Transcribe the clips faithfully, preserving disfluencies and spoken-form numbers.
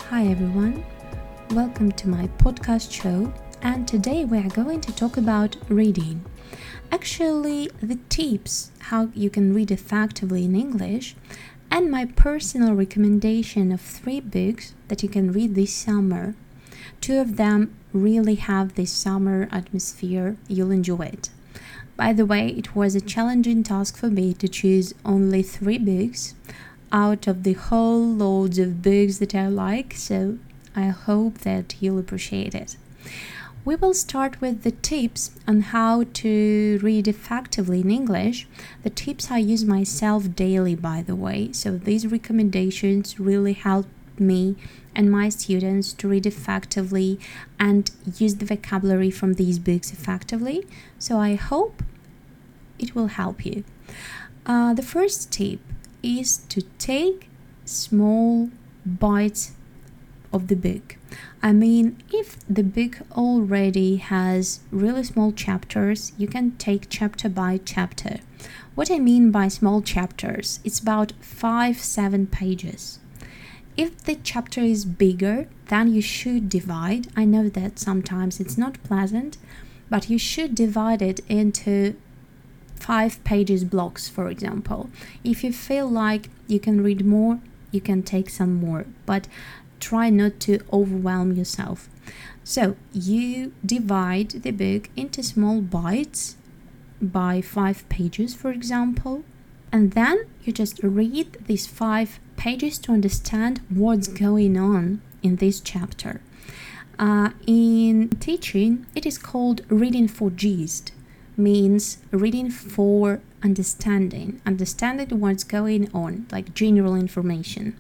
Hi everyone, welcome to my podcast show, and today we are going to talk about reading. Actually, the tips how you can read effectively in English, and my personal recommendation of three books that you can read this summer. Two of them really have this summer atmosphere, you'll enjoy it. By the way, it was a challenging task for me to choose only three books out of the whole loads of books that I like, so I hope that you'll appreciate it. We will start with the tips on how to read effectively in English. The tips I use myself daily, by the way, so these recommendations really help me and my students to read effectively and use the vocabulary from these books effectively, so I hope it will help you. Uh, the first tip is to take small bites of the book. I mean, if the book already has really small chapters, you can take chapter by chapter. What I mean by small chapters, it's about five, seven pages. If the chapter is bigger, then you should divide. I know that sometimes it's not pleasant, but you should divide it into five pages blocks, for example. If you feel like you can read more, you can take some more, but try not to overwhelm yourself. So you divide the book into small bites by five pages, for example, and then you just read these five pages to understand what's going on in this chapter. Uh, in teaching, it is called reading for gist. Means reading for understanding, understanding what's going on, like general information.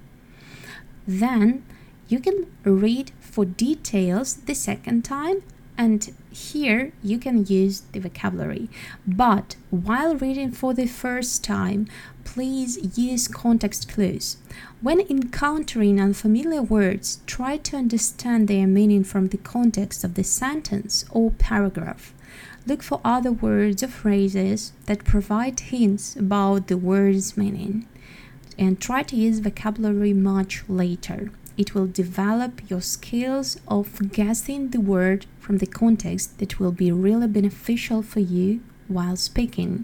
Then you can read for details the second time, and here you can use the vocabulary. But while reading for the first time, please use context clues. When encountering unfamiliar words, try to understand their meaning from the context of the sentence or paragraph. Look for other words or phrases that provide hints about the word's meaning, and try to use vocabulary much later. It will develop your skills of guessing the word from the context that will be really beneficial for you while speaking.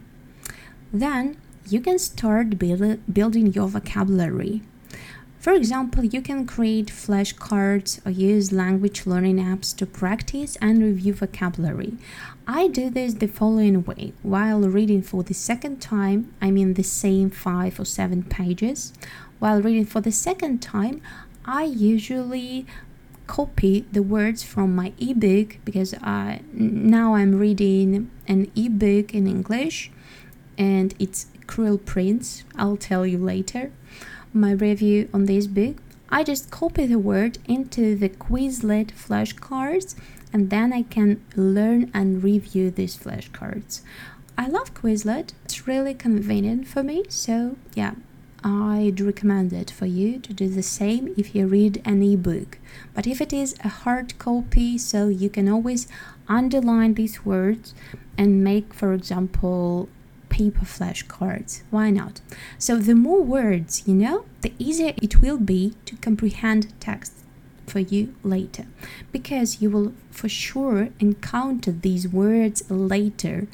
Then you can start build, building your vocabulary. For example, you can create flashcards or use language learning apps to practice and review vocabulary. I do this the following way. While reading for the second time, I mean the same five or seven pages. While reading for the second time, I usually copy the words from my ebook because I, now I'm reading an ebook in English and it's Cruel Prince. I'll tell you later my review on this book. I just copy the word into the Quizlet flashcards, and then I can learn and review these flashcards. I love Quizlet. It's really convenient for me, so yeah, I'd recommend it for you to do the same if you read an ebook. But if it is a hard copy, so you can always underline these words and make, for example, paper flashcards. Why not? So the more words you know, the easier it will be to comprehend text for you later, because you will for sure encounter these words later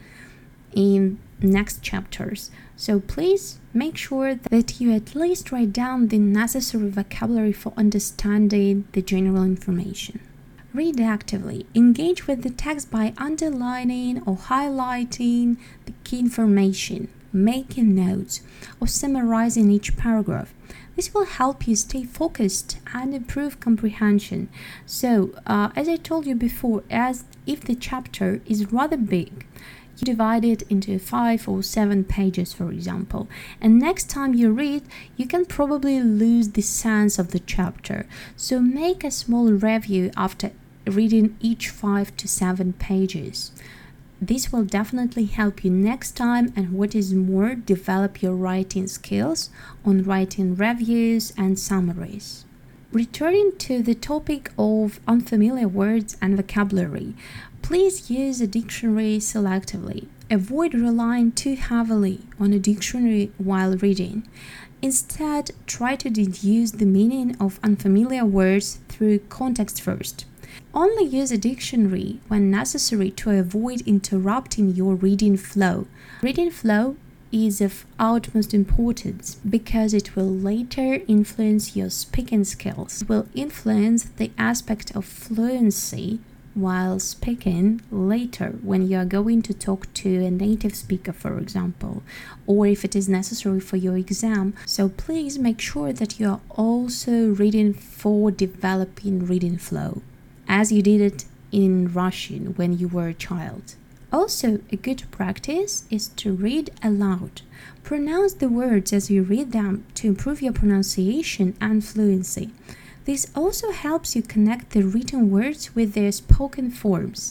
in next chapters. So please make sure that you at least write down the necessary vocabulary for understanding the general information. Read actively. Engage with the text by underlining or highlighting the key information, making notes, or summarizing each paragraph. This will help you stay focused and improve comprehension. So, uh, as I told you before, as if the chapter is rather big, you divide it into five or seven pages, for example, and next time you read, you can probably lose the sense of the chapter. So make a small review after reading each five to seven pages. This will definitely help you next time, and what is more, develop your writing skills on writing reviews and summaries. Returning to the topic of unfamiliar words and vocabulary, please use a dictionary selectively. Avoid relying too heavily on a dictionary while reading. Instead, try to deduce the meaning of unfamiliar words through context first. Only use a dictionary when necessary to avoid interrupting your reading flow. Reading flow is of utmost importance because it will later influence your speaking skills. It will influence the aspect of fluency while speaking later when you are going to talk to a native speaker, for example, or if it is necessary for your exam. So please make sure that you are also reading for developing reading flow, as you did it in Russian when you were a child. Also, a good practice is to read aloud. Pronounce the words as you read them to improve your pronunciation and fluency. This also helps you connect the written words with their spoken forms.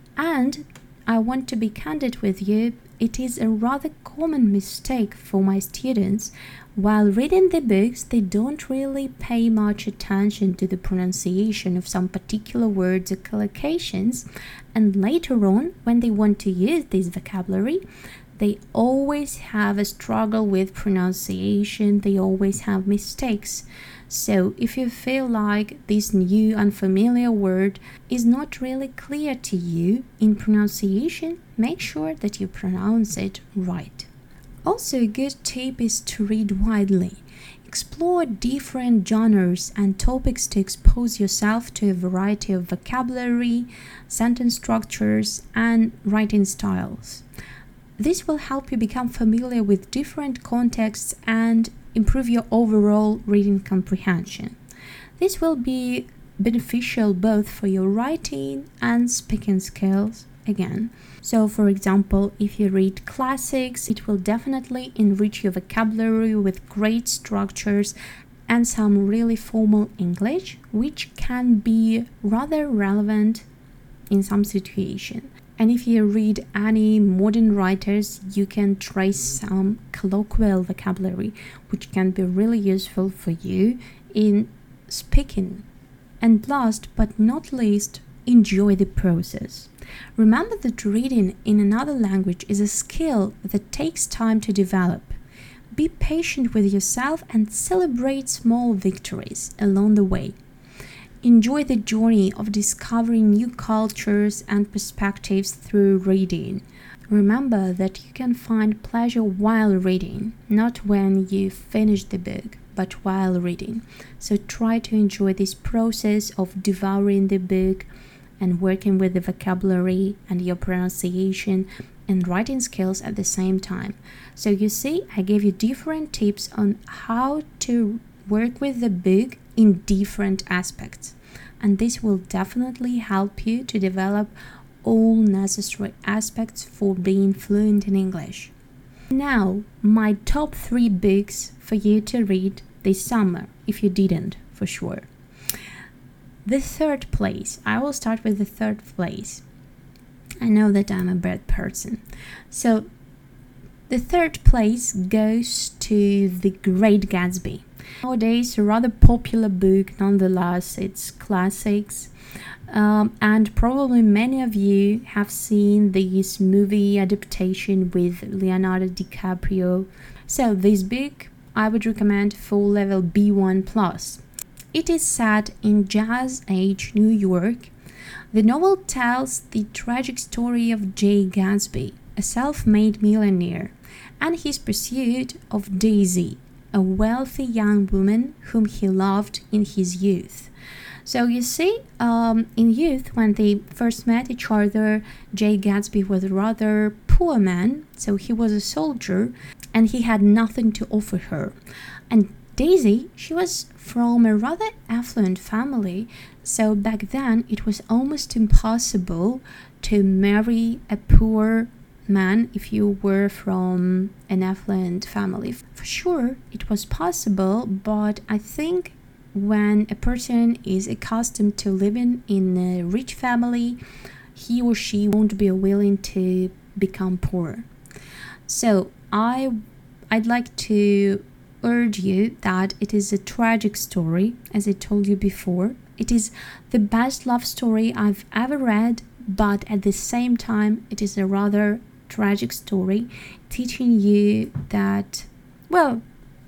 And I want to be candid with you, it is a rather common mistake for my students. While reading the books, they don't really pay much attention to the pronunciation of some particular words or collocations, and later on, when they want to use this vocabulary, they always have a struggle with pronunciation, they always have mistakes. So if you feel like this new unfamiliar word is not really clear to you in pronunciation, make sure that you pronounce it right. Also, a good tip is to read widely. Explore different genres and topics to expose yourself to a variety of vocabulary, sentence structures, and writing styles. This will help you become familiar with different contexts and improve your overall reading comprehension. This will be beneficial both for your writing and speaking skills again. So, for example, if you read classics, it will definitely enrich your vocabulary with great structures and some really formal English, which can be rather relevant in some situation. And if you read any modern writers, you can trace some colloquial vocabulary, which can be really useful for you in speaking. And last but not least, enjoy the process. Remember that reading in another language is a skill that takes time to develop. Be patient with yourself and celebrate small victories along the way. Enjoy the journey of discovering new cultures and perspectives through reading. Remember that you can find pleasure while reading, not when you finish the book, but while reading. So try to enjoy this process of devouring the book and working with the vocabulary and your pronunciation and writing skills at the same time. So you see, I gave you different tips on how to work with the book in different aspects, and this will definitely help you to develop all necessary aspects for being fluent in English. Now, my top three books for you to read this summer, if you didn't, for sure. The third place, I will start with the third place. I know that I'm a bad person. So, the third place goes to The Great Gatsby. Nowadays, a rather popular book, nonetheless, it's classics. Um, and probably many of you have seen this movie adaptation with Leonardo DiCaprio. So this book I would recommend for level B one plus. It is set in Jazz Age New York. The novel tells the tragic story of Jay Gatsby, a self-made millionaire, and his pursuit of Daisy, a wealthy young woman whom he loved in his youth. So you see, um, in youth, when they first met each other, Jay Gatsby was a rather poor man, so he was a soldier, and he had nothing to offer her. And Daisy, she was from a rather affluent family, so back then it was almost impossible to marry a poor man if you were from an affluent family. For sure, it was possible, but I think when a person is accustomed to living in a rich family, he or she won't be willing to become poor. So I, I'd like to urge you that it is a tragic story, as I told you before. It is the best love story I've ever read, but at the same time, it is a rather tragic story, teaching you that, well,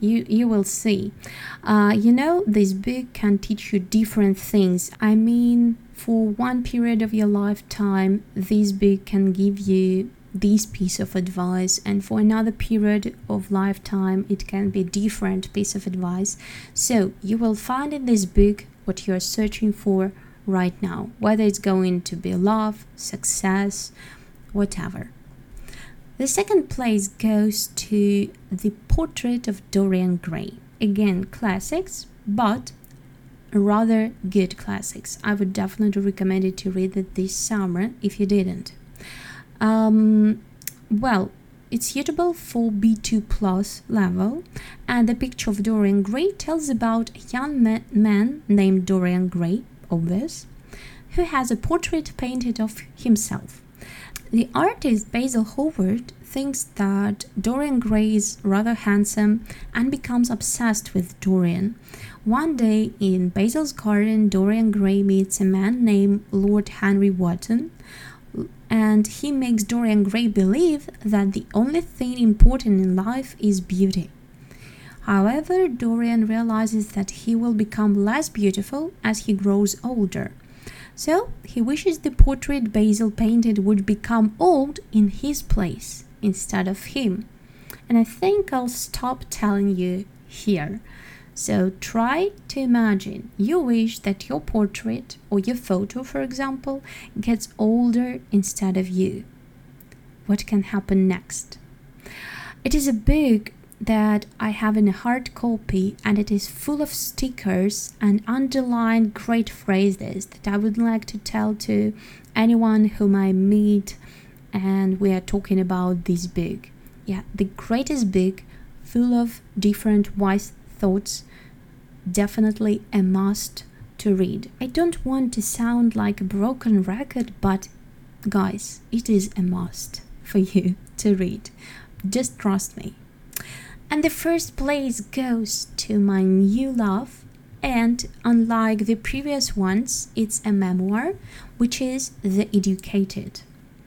You you will see. Uh, you know, this book can teach you different things. I mean, for one period of your lifetime, this book can give you this piece of advice, and for another period of lifetime it can be different piece of advice. So you will find in this book what you're searching for right now, whether it's going to be love, success, whatever. The second place goes to The Portrait of Dorian Gray. Again, classics, but rather good classics. I would definitely recommend it to read it this summer if you didn't. Um, well, it's suitable for B two plus level, and the picture of Dorian Gray tells about a young ma- man named Dorian Gray, obvious, who has a portrait painted of himself. The artist Basil Hallward thinks that Dorian Gray is rather handsome and becomes obsessed with Dorian. One day in Basil's garden, Dorian Gray meets a man named Lord Henry Wotton, and he makes Dorian Gray believe that the only thing important in life is beauty. However, Dorian realizes that he will become less beautiful as he grows older. So he wishes the portrait Basil painted would become old in his place instead of him. And I think I'll stop telling you here. So try to imagine you wish that your portrait or your photo, for example, gets older instead of you. What can happen next? It is a book that I have in a hard copy, and it is full of stickers and underlined great phrases that I would like to tell to anyone whom I meet and we are talking about this book. Yeah, the greatest book full of different wise thoughts, definitely a must to read. I don't want to sound like a broken record, but guys, it is a must for you to read. Just trust me. And the first place goes to my new love, and unlike the previous ones, it's a memoir, which is The Educated.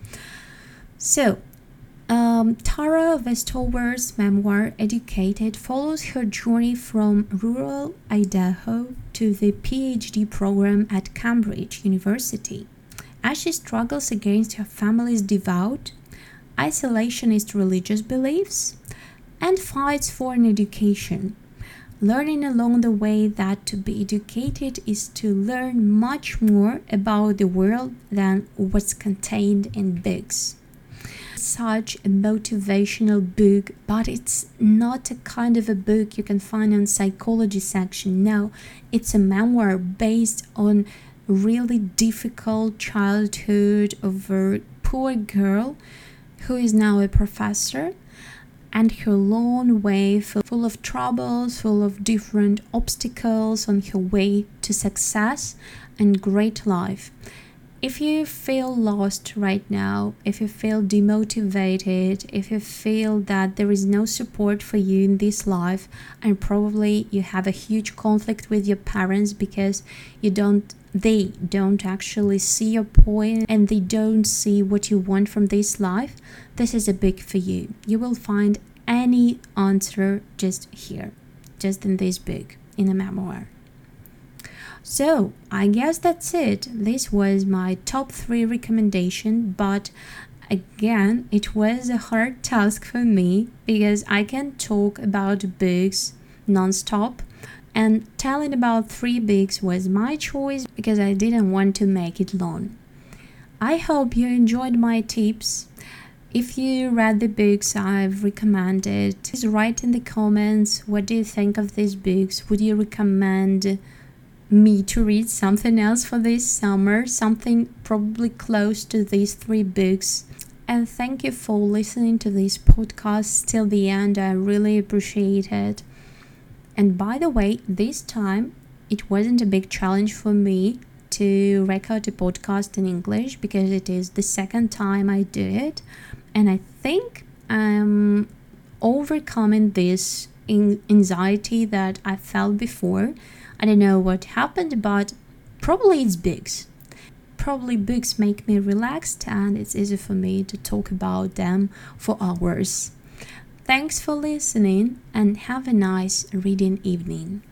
So, um, Tara Westover's memoir, Educated, follows her journey from rural Idaho to the PhD program at Cambridge University, as she struggles against her family's devout, isolationist religious beliefs, and fights for an education, learning along the way that to be educated is to learn much more about the world than what's contained in books. Such a motivational book, but it's not a kind of a book you can find in psychology section. No, it's a memoir based on really difficult childhood of a poor girl who is now a professor, and her long way full of troubles, full of different obstacles on her way to success and great life. If you feel lost right now, if you feel demotivated, if you feel that there is no support for you in this life, and probably you have a huge conflict with your parents because you don't they don't actually see your point and they don't see what you want from this life, this is a book for you. You will find any answer just here, just in this book, in a memoir. So, I guess that's it. This was my top three recommendation, but again, it was a hard task for me because I can talk about books non-stop, and telling about three books was my choice because I didn't want to make it long. I hope you enjoyed my tips. If you read the books I've recommended, please write in the comments what do you think of these books. Would you recommend me to read something else for this summer, something probably close to these three books? And thank you for listening to this podcast till the end. I really appreciate it. And by the way, this time it wasn't a big challenge for me to record a podcast in English because it is the second time I do it, and I think I'm overcoming this anxiety that I felt before. I don't know what happened, but probably it's books. Probably books make me relaxed and it's easy for me to talk about them for hours. Thanks for listening and have a nice reading evening.